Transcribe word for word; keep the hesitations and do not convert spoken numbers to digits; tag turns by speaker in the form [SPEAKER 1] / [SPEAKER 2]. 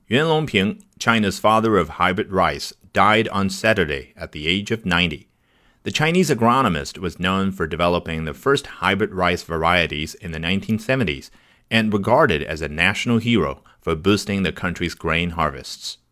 [SPEAKER 1] Yuan Longping, China's father of hybrid rice, died on Saturday at the age of ninety. The Chinese agronomist was known for developing the first hybrid rice varieties in the nineteen seventies and regarded as a national hero for boosting the country's grain harvests.